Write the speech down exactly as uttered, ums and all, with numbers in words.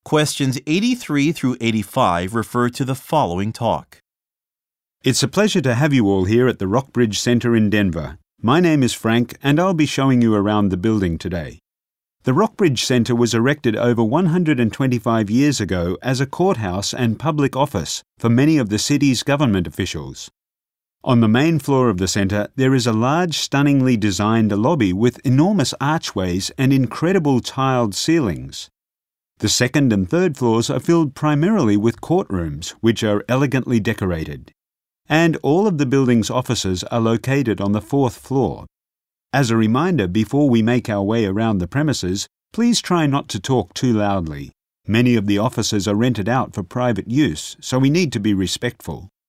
Questions eighty-three through eighty-five refer to the following talk. It's a pleasure to have you all here at the Rockbridge Centre in Denver. My name is Frank and I'll be showing you around the building today. The Rockbridge Centre was erected over one hundred twenty-five years ago as a courthouse and public office for many of the city's government officials. On the main floor of the centre, there is a large, stunningly designed lobby with enormous archways and incredible tiled ceilings. The second and third floors are filled primarily with courtrooms, which are elegantly decorated. And all of the building's offices are located on the fourth floor. As a reminder, before we make our way around the premises, please try not to talk too loudly. Many of the offices are rented out for private use, so we need to be respectful.